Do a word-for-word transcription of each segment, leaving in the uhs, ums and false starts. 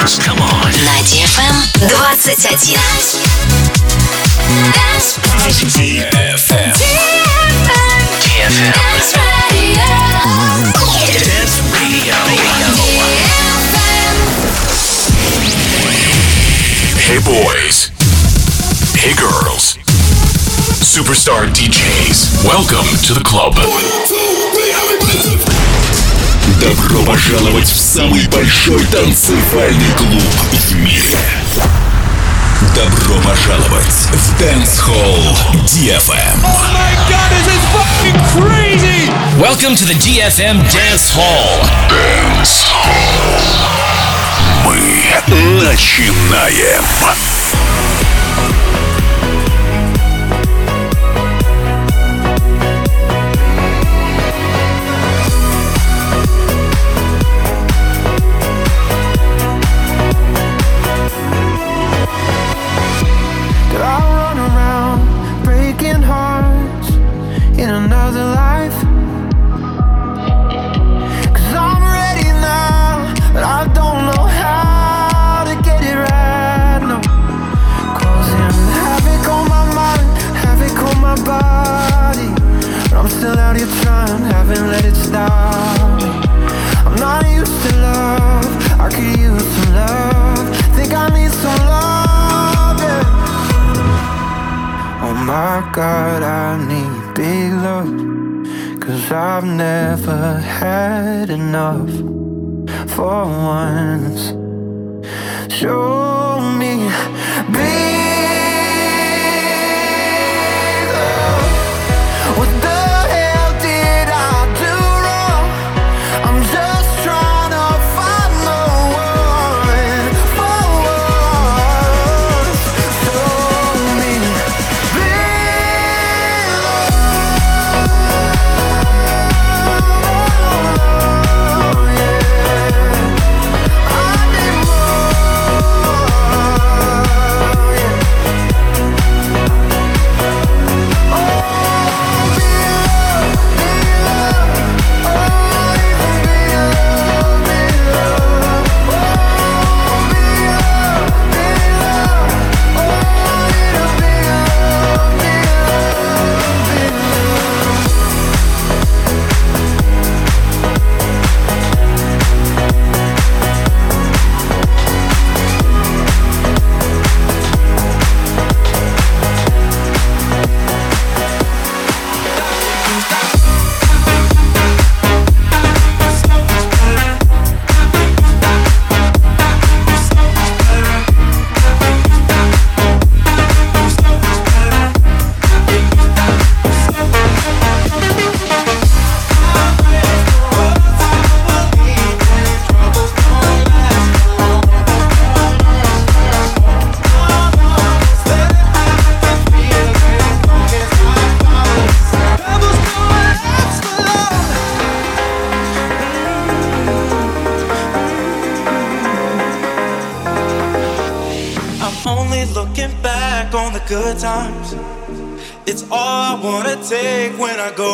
Dance. Come on. На ди эф эм двадцать один. ди эф эм. ди эф эм. Dance Radio. Hey boys. Hey girls. Superstar ди джейс. Welcome to the club. Добро пожаловать в самый большой танцевальный клуб в мире. Добро пожаловать в Dance Hall ди эф эм. Oh my God, this is fucking crazy! Welcome to the ди эф эм Dance Hall. Dance Hall. Мы начинаем. God, I need big love, 'cause I've never had enough. For once, show me big love. What the hell did I do wrong? I'm just trying to find the one for once. Show me good times. It's all I wanna take when I go.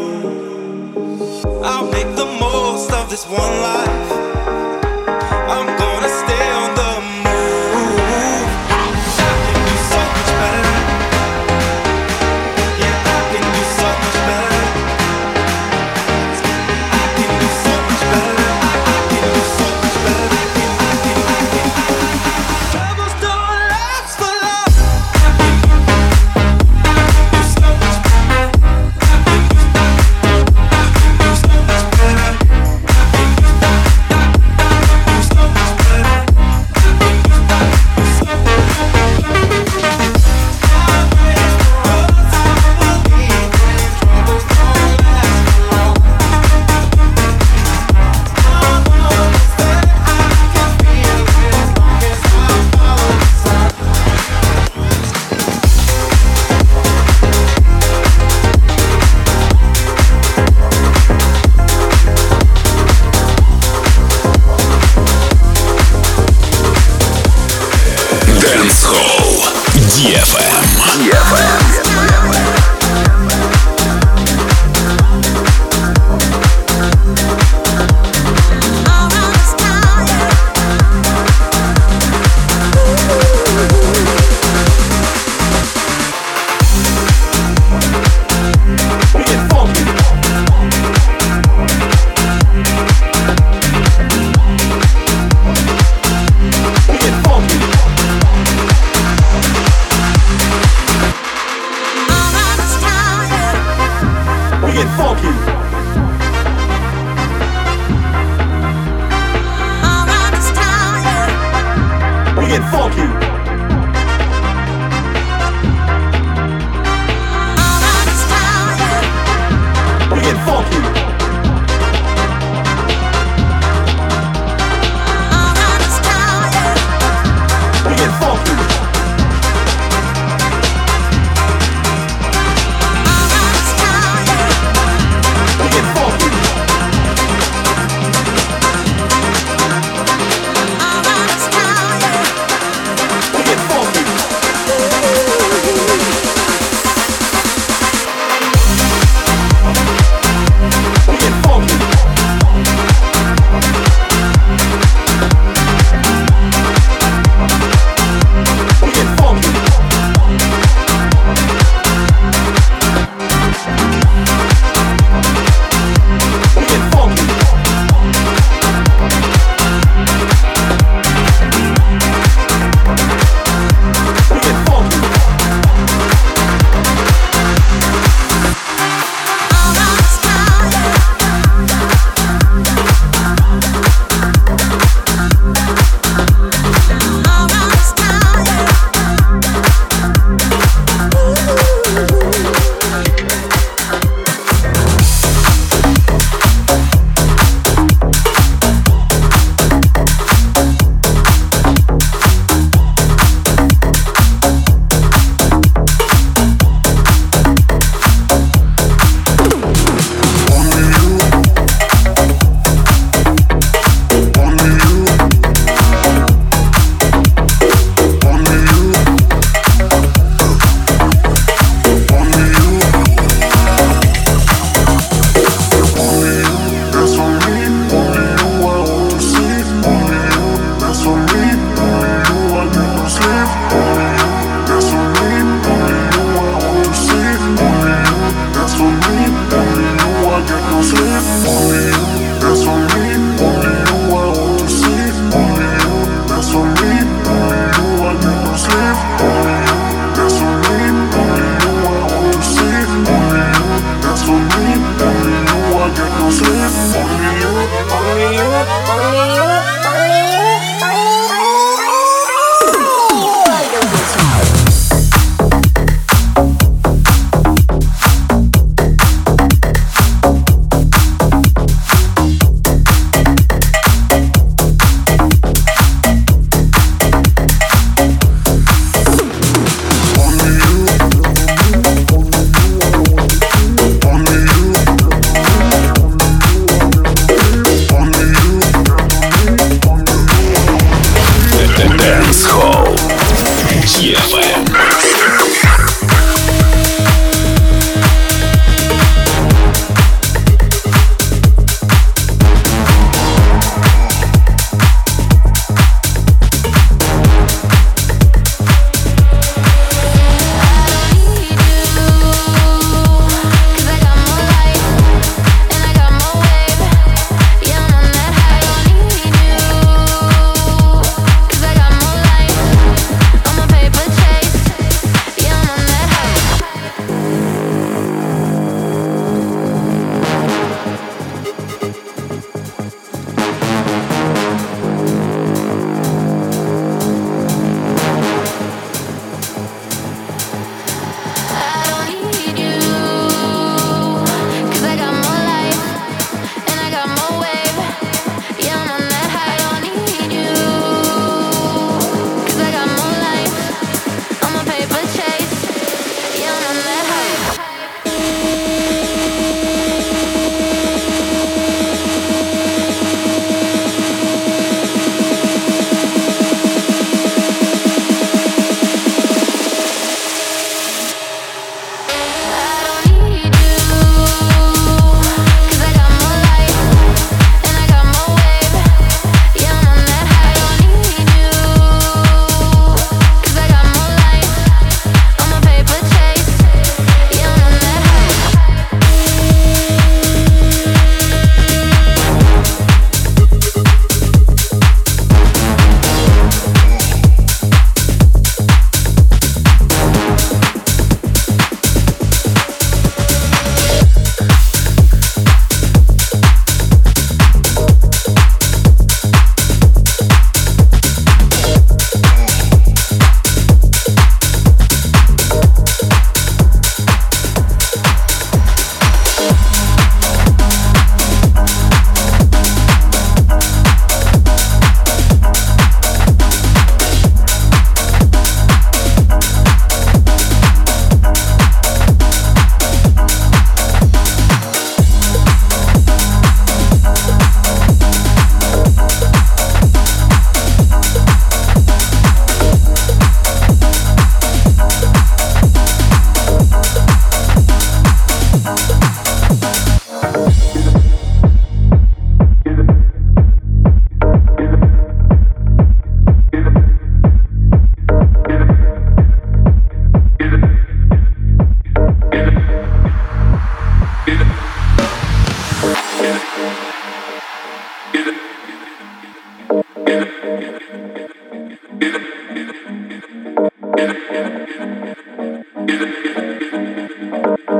I'll make the most of this one life. I'm gonna stay on the move. I can do so much better. Yeah, I can do so much better. I can do so much better. I, I can do so much better. I can, I can, I can, I can. Troubles don't last for long. So much better. get funky. We get funky. We get funky. We get funky.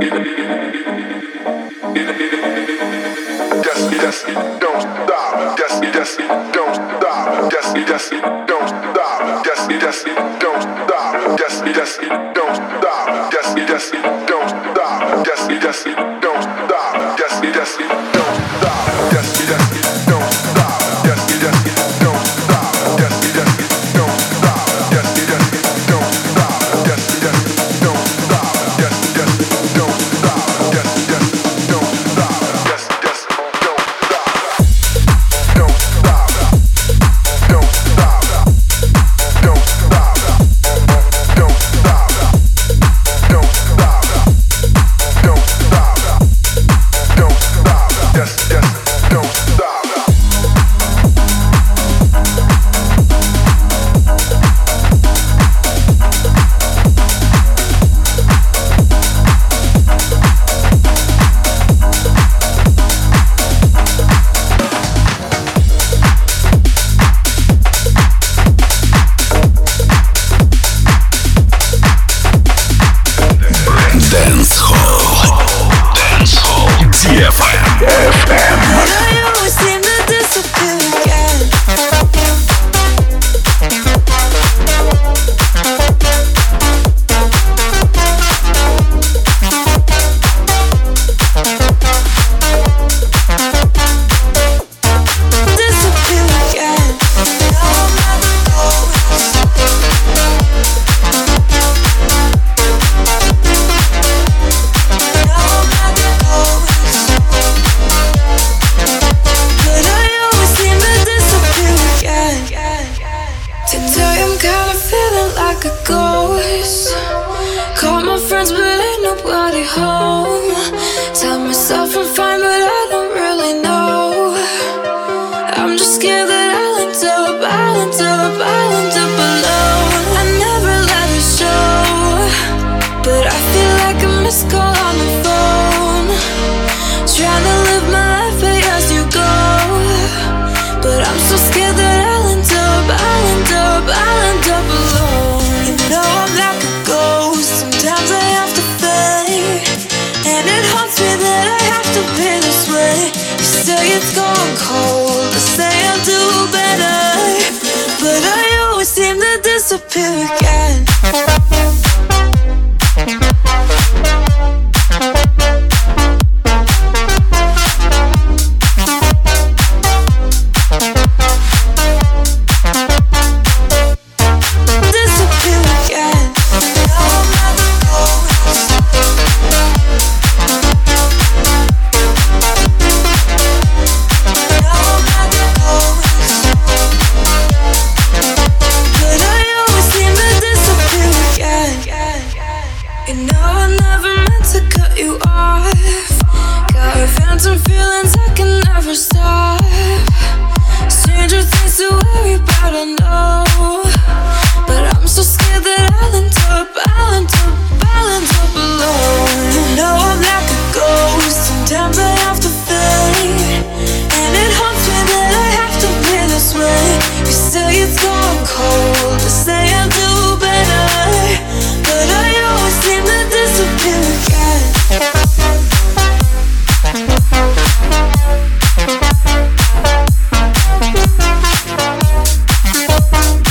We'll be right back.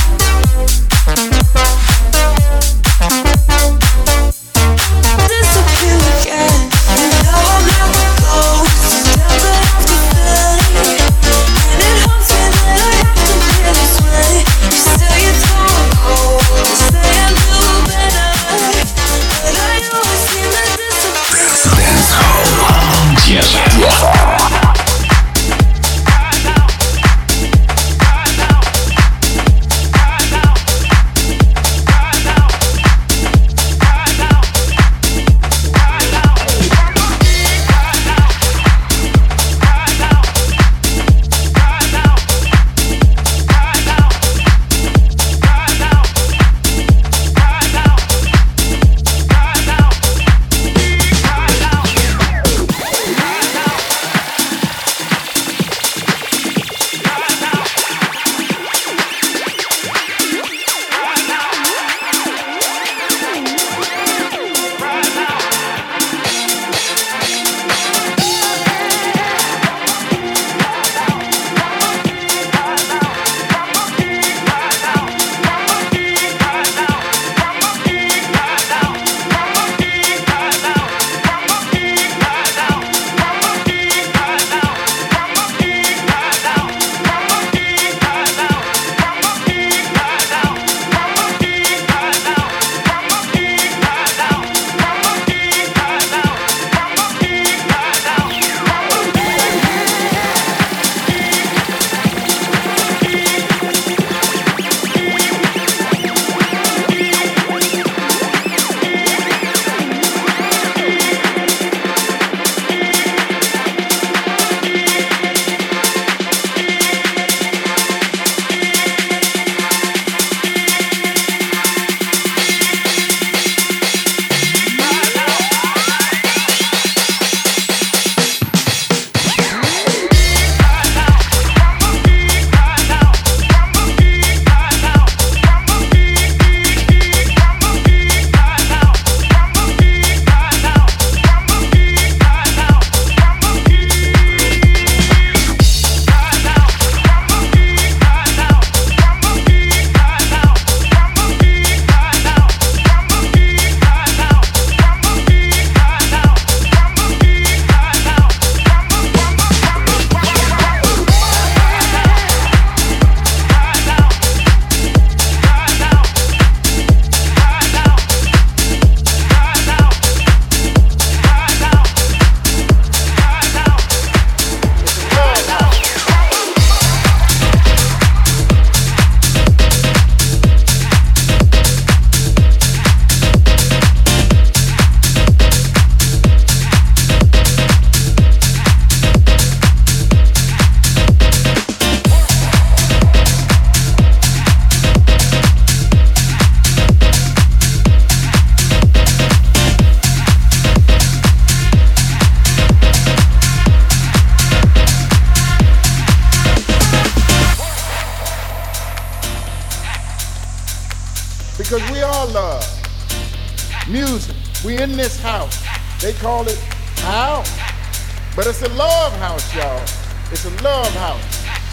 love. Music. We in this house. They call it house. But it's a love house, y'all. It's a love house.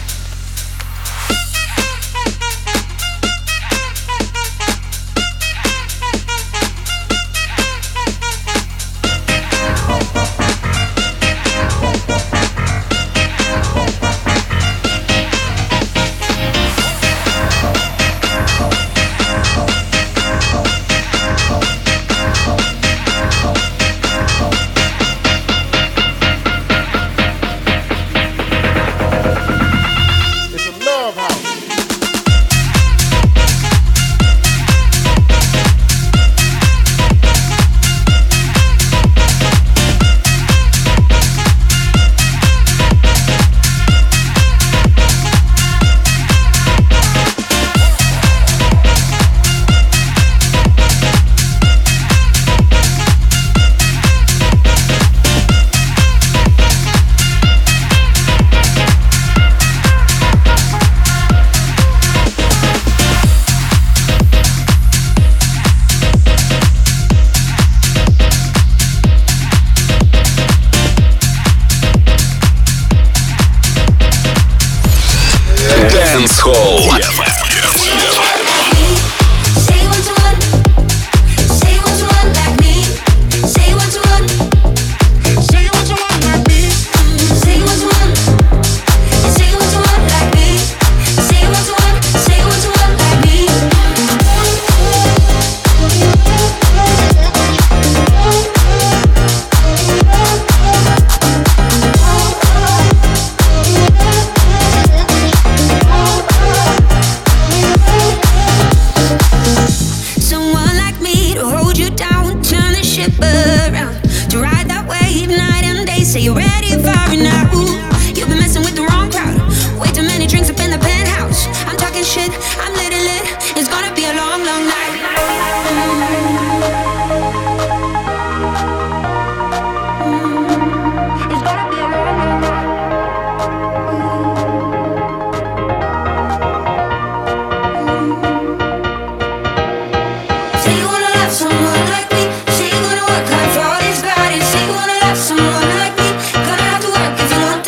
Dance Hall. Say you're ready for it now. You've been messing with the wrong crowd. Way too many drinks up in the penthouse. I'm talking shit, I'm lit and lit. It's gonna be a long, long night. It's gonna be a long, long night. Say you wanna love someone like me. Say you wanna work hard for this body. Say you wanna love someone like me. Gonna have to work if you want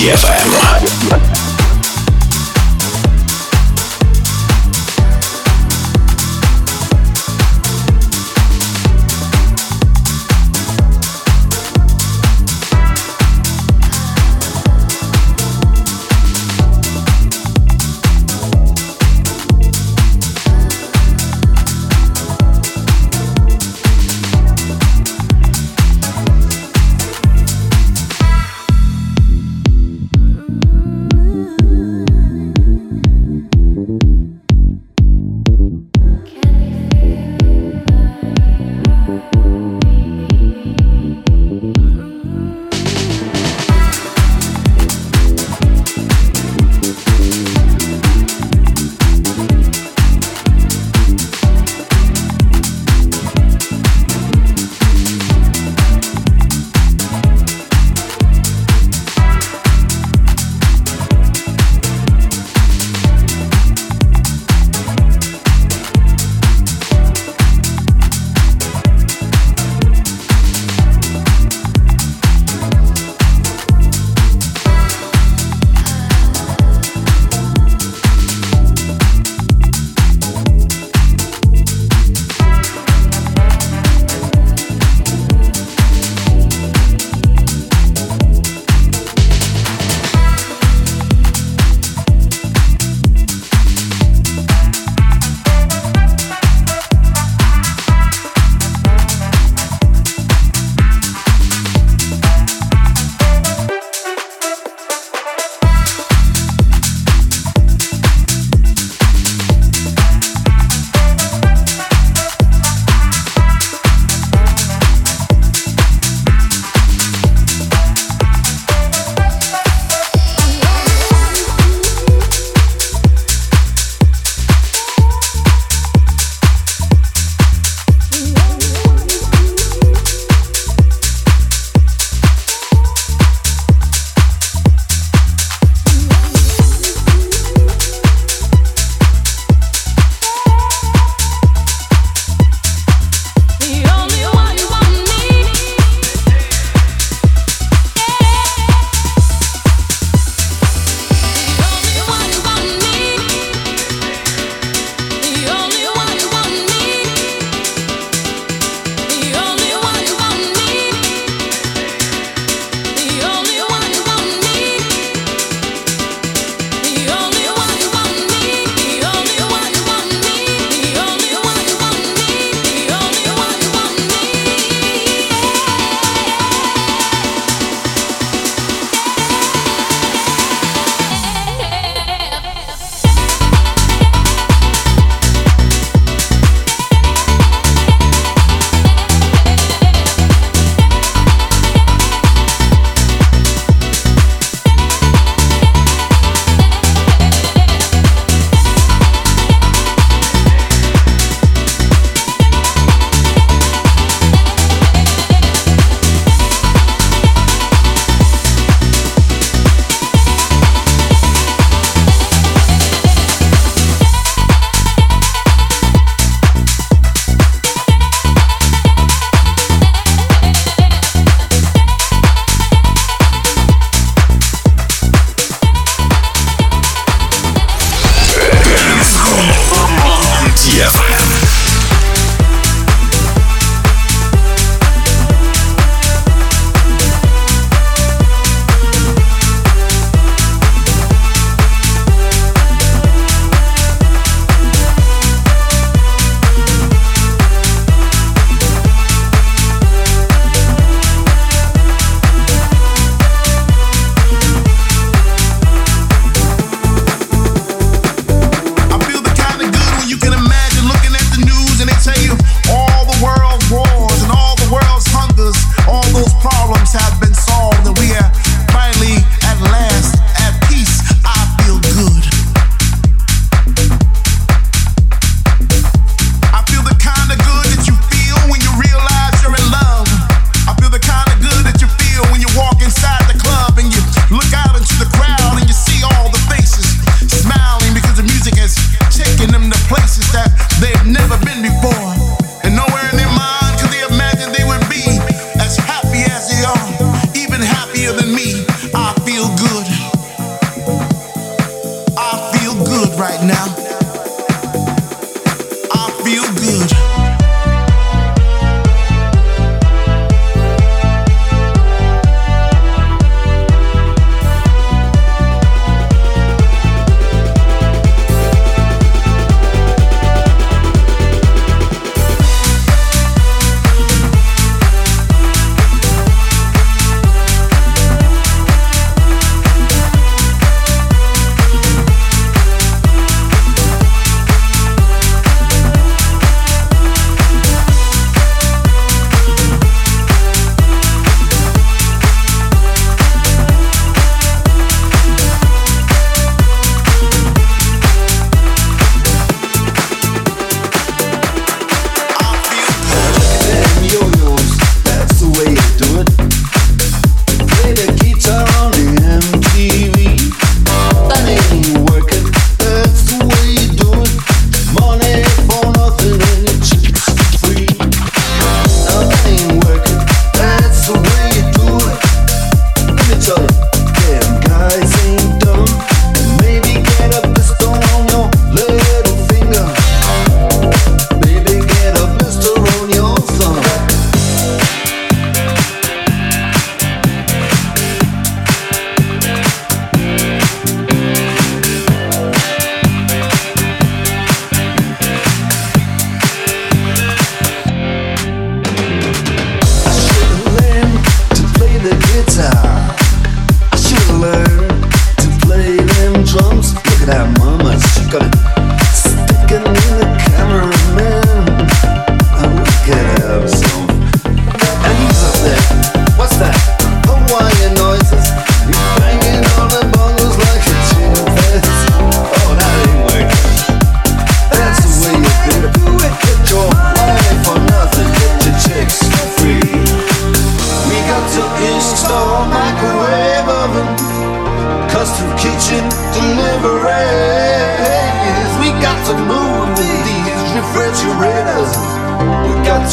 ди эф эм. Ooh.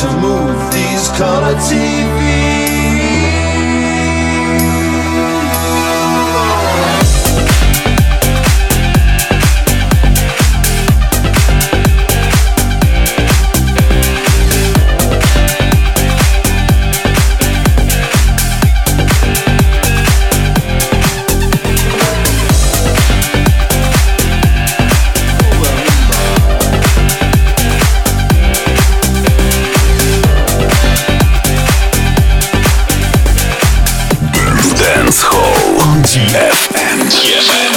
to move these color T Vs. ди эф эм. ди эф эм.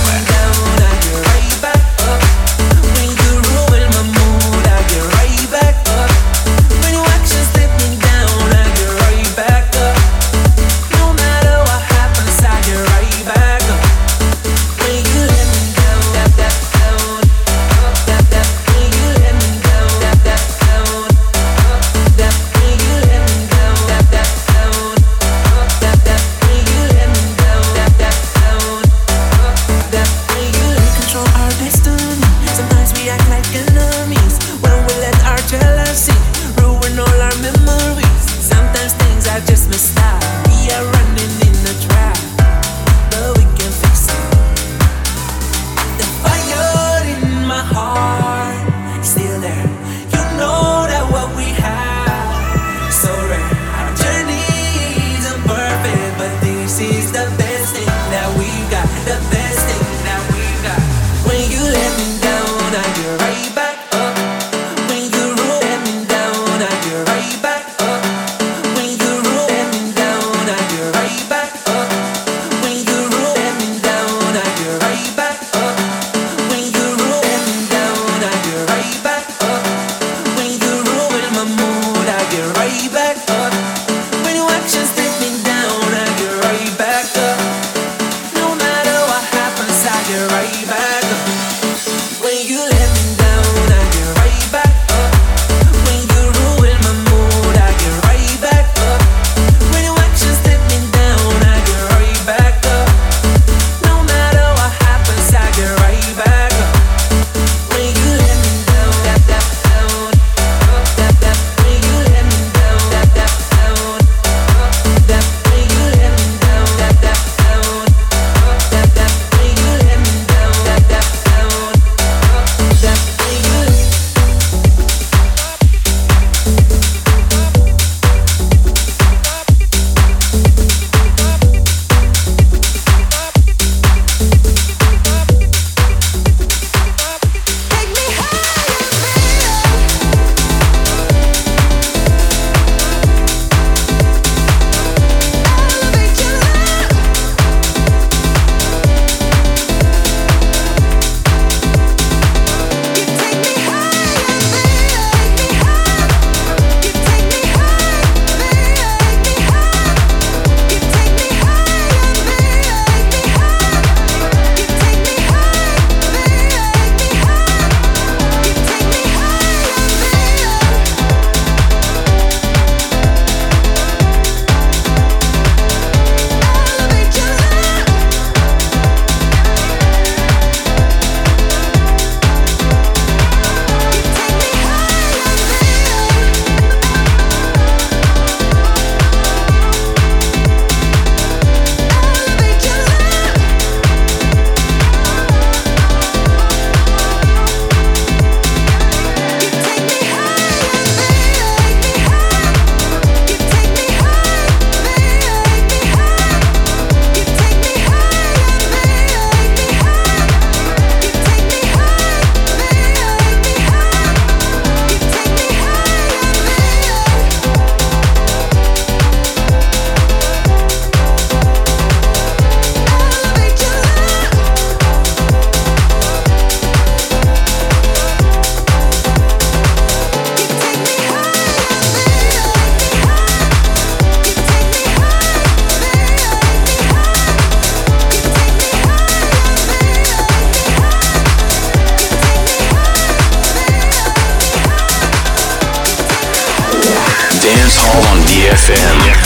Dance Hall on ди эф эм.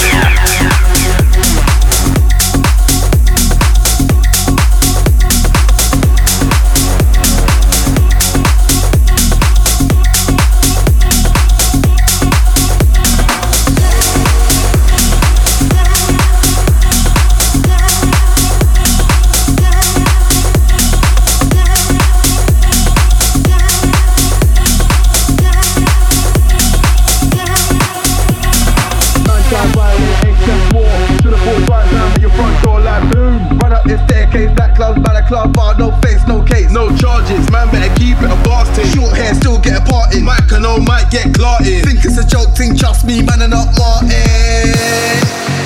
club bar, no face, no case, no charges. Man better keep it a boss thing. Short hair, still get a part in. Mic and no might get clarted. Think it's a joke thing, trust me, man, and not Martin.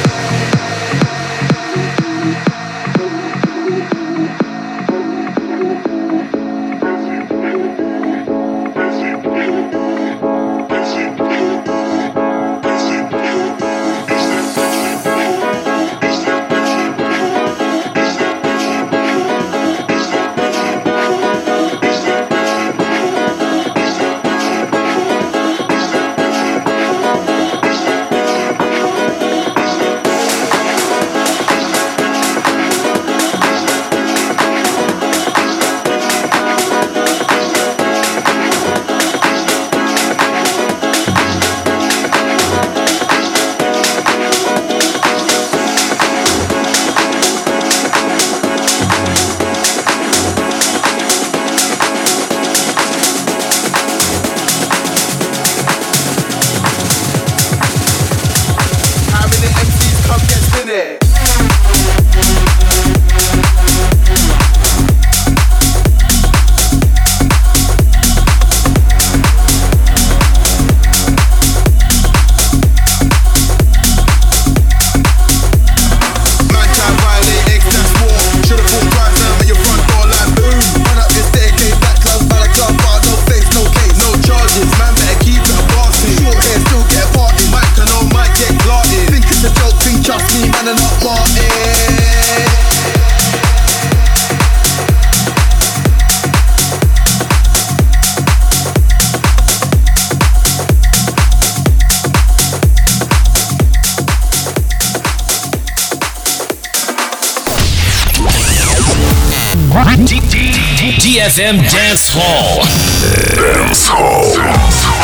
D F M Dance Hall. Dance Hall.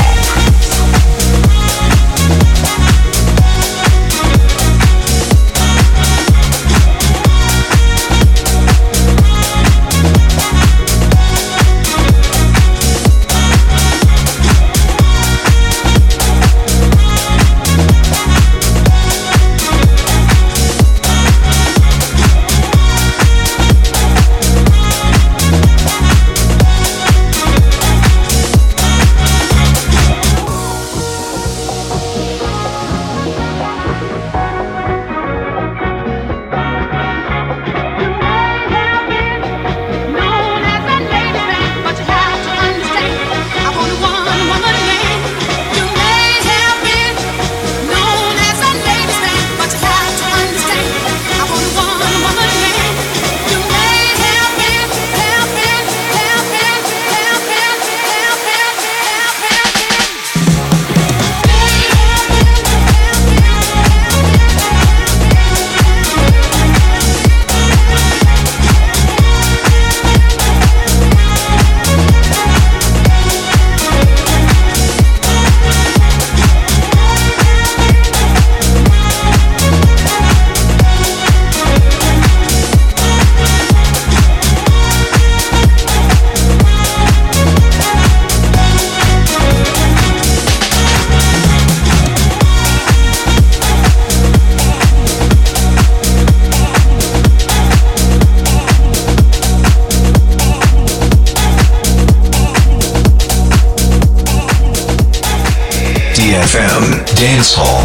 D F M Dance Hall.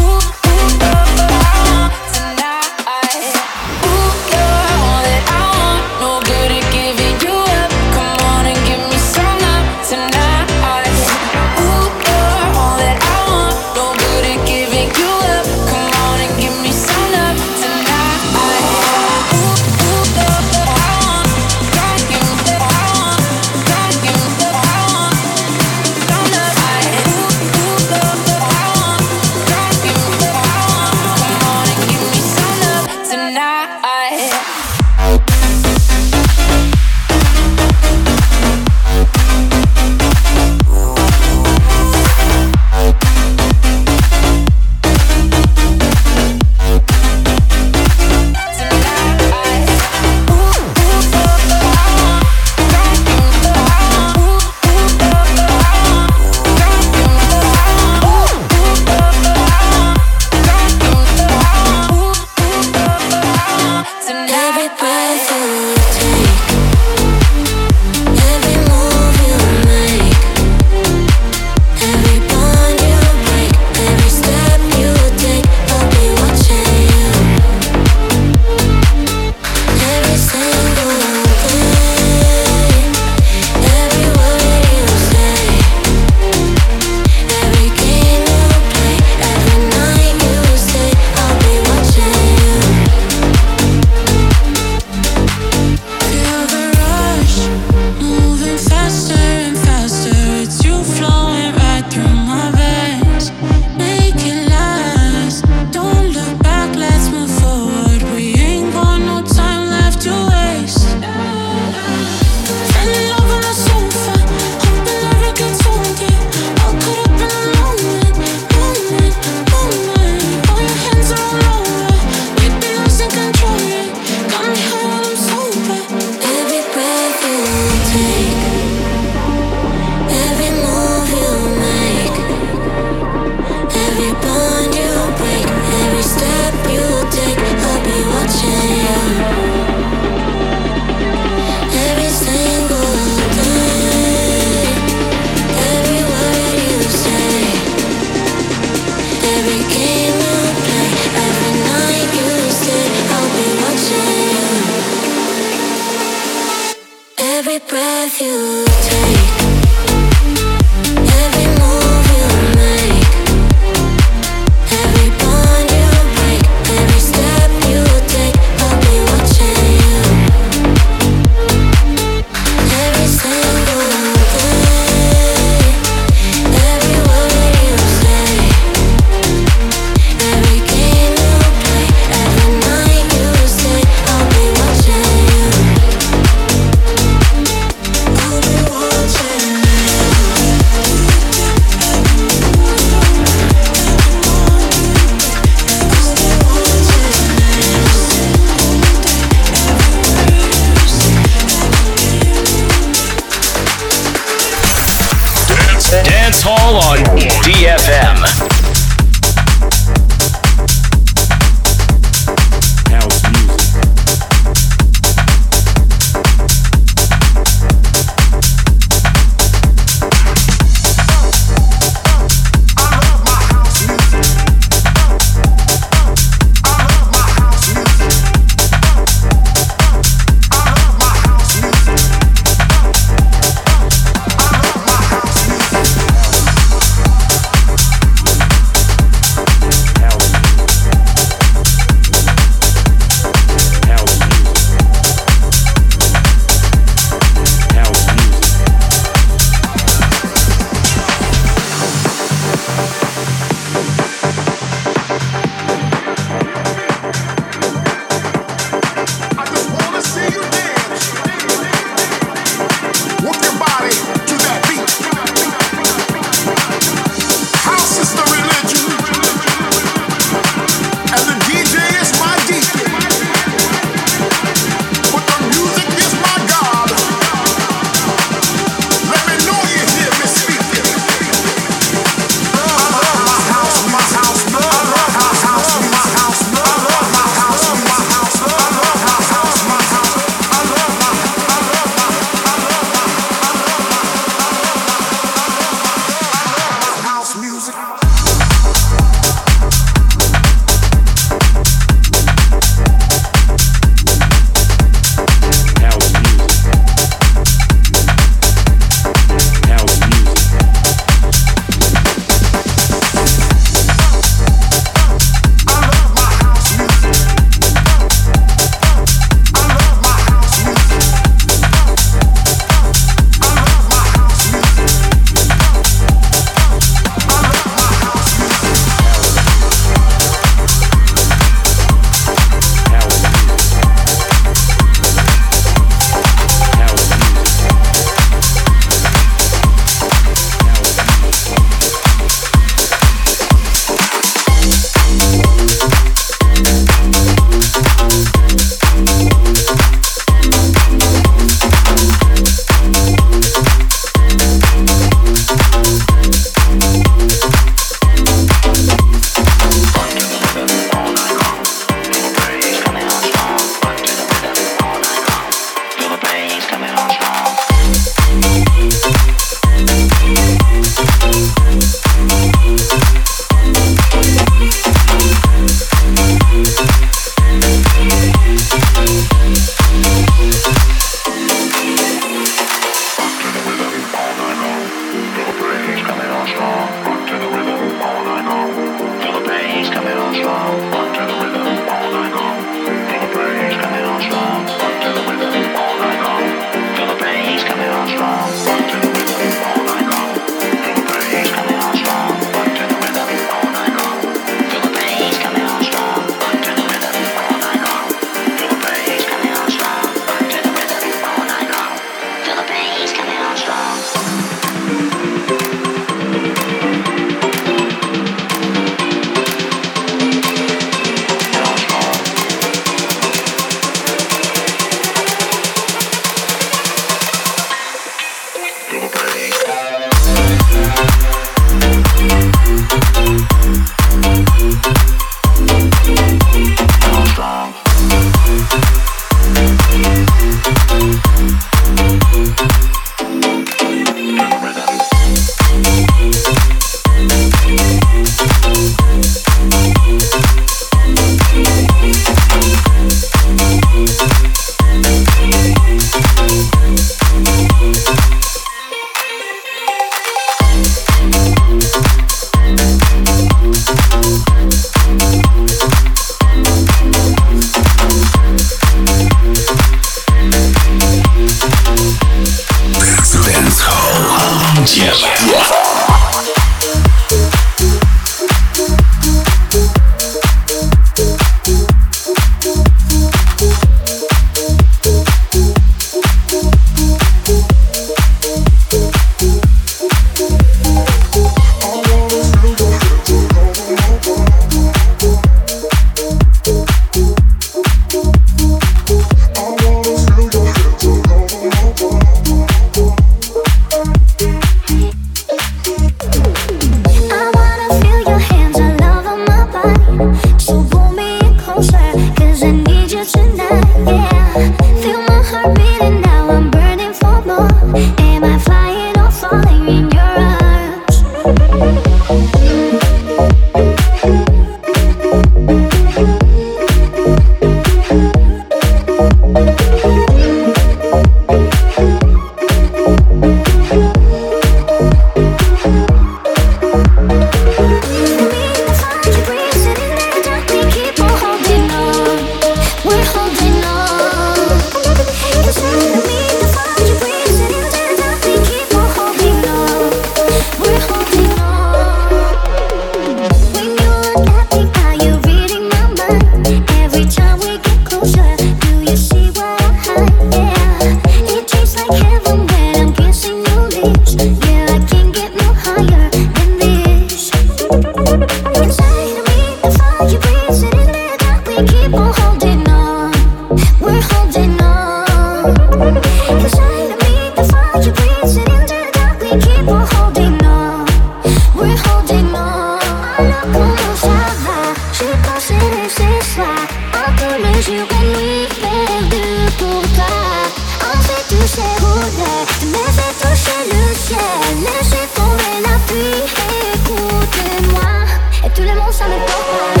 fire breathes in the dark. We keep on holding on. We're holding on. Inside of me, the fire breathes in the dark. We keep on holding on. We're holding on. Alors comment ça va? J'ai passé laisser ça. Entre les yeux que lui perdu pour toi. On fait toucher rouler, mais fait toucher le ciel. Laissez tomber la pluie, écoutez-moi. Et tout le monde ça me porte.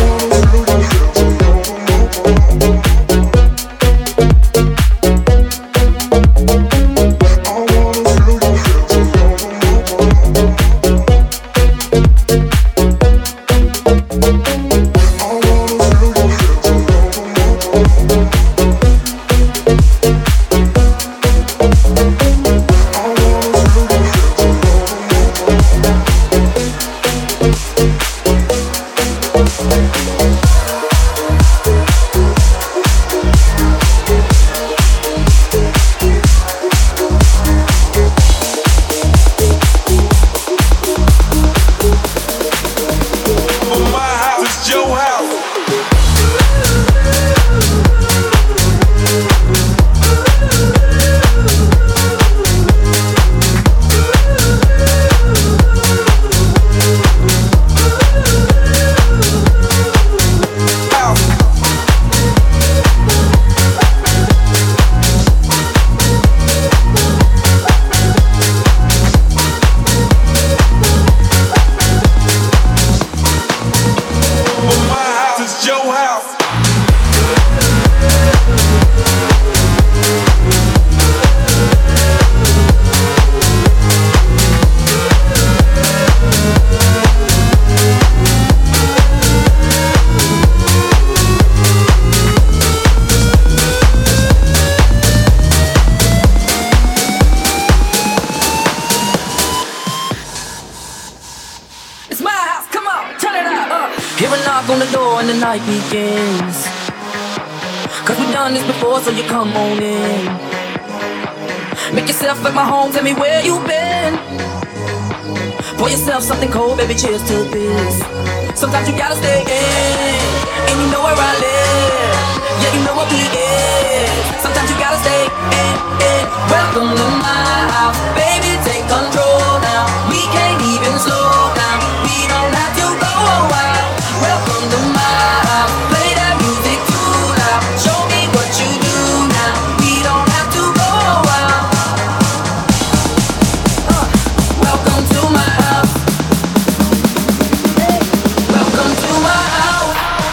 Begins. Cause we've done this before, so you come on in. Make yourself at my home, tell me where you've been. Pour yourself something cold, baby, cheers to this. Sometimes you gotta stay in, and you know where I live. Yeah, you know what we is. Sometimes you gotta stay in, in. Welcome to my house, baby, take control now. We can't even slow down, we don't have to go wild. Welcome to my house, play that music too loud. Show me what you do now, we don't have to go wild. uh, Welcome to my house, hey. Welcome to my house.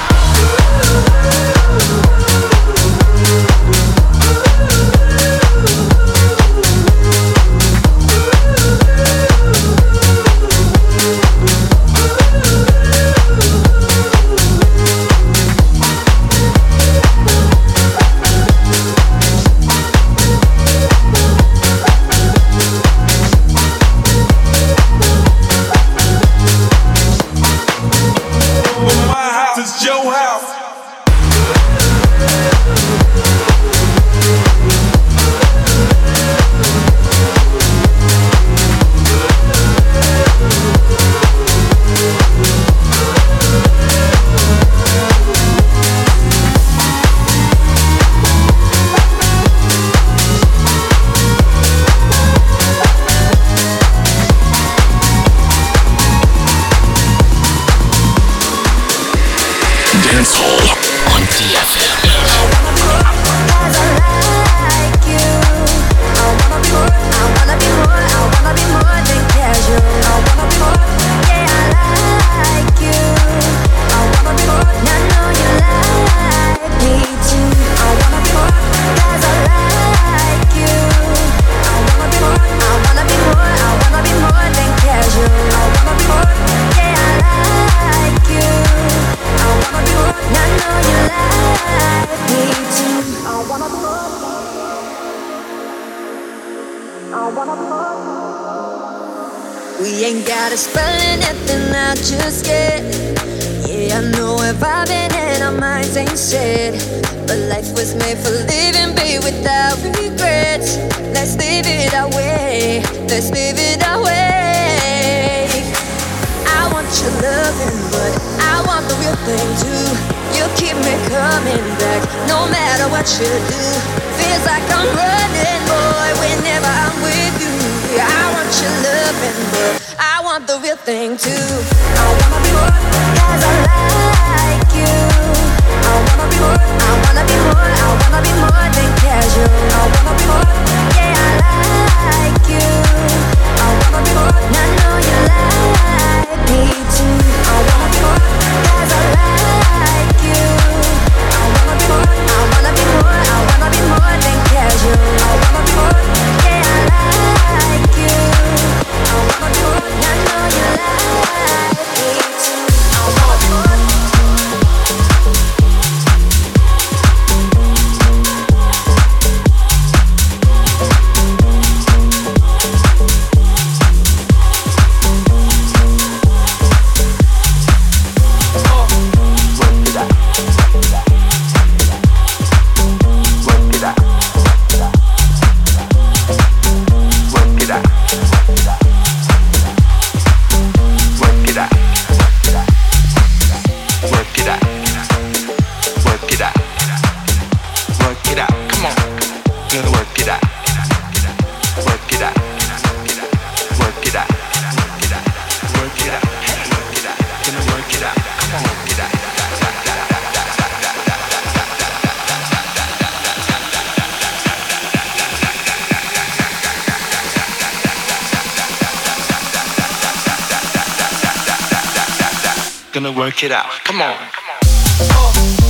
We ain't gotta spell anything out just yet. Yeah, I know we're vibing and our minds ain't set. But life was made for living, babe, without regrets. Let's live it our way, let's live it our way. I want your loving, but I want the real thing too. You keep me coming back, no matter what you do. Feels like I'm running, boy, whenever I'm with you. I want your loving, but I want the real thing too. I wanna be more, cause I like you. I wanna be more, I wanna be more, I wanna be more than casual. I wanna be more, yeah, I like you. I wanna be more, and I know you like me too. I wanna be more, cause I like you. I wanna be more, I wanna be more, I wanna be more than casual. I wanna be more, yeah, I like you. I wanna be more, and I know you like me too. I wanna be more. Gonna work it out. Come on. Come on. Oh.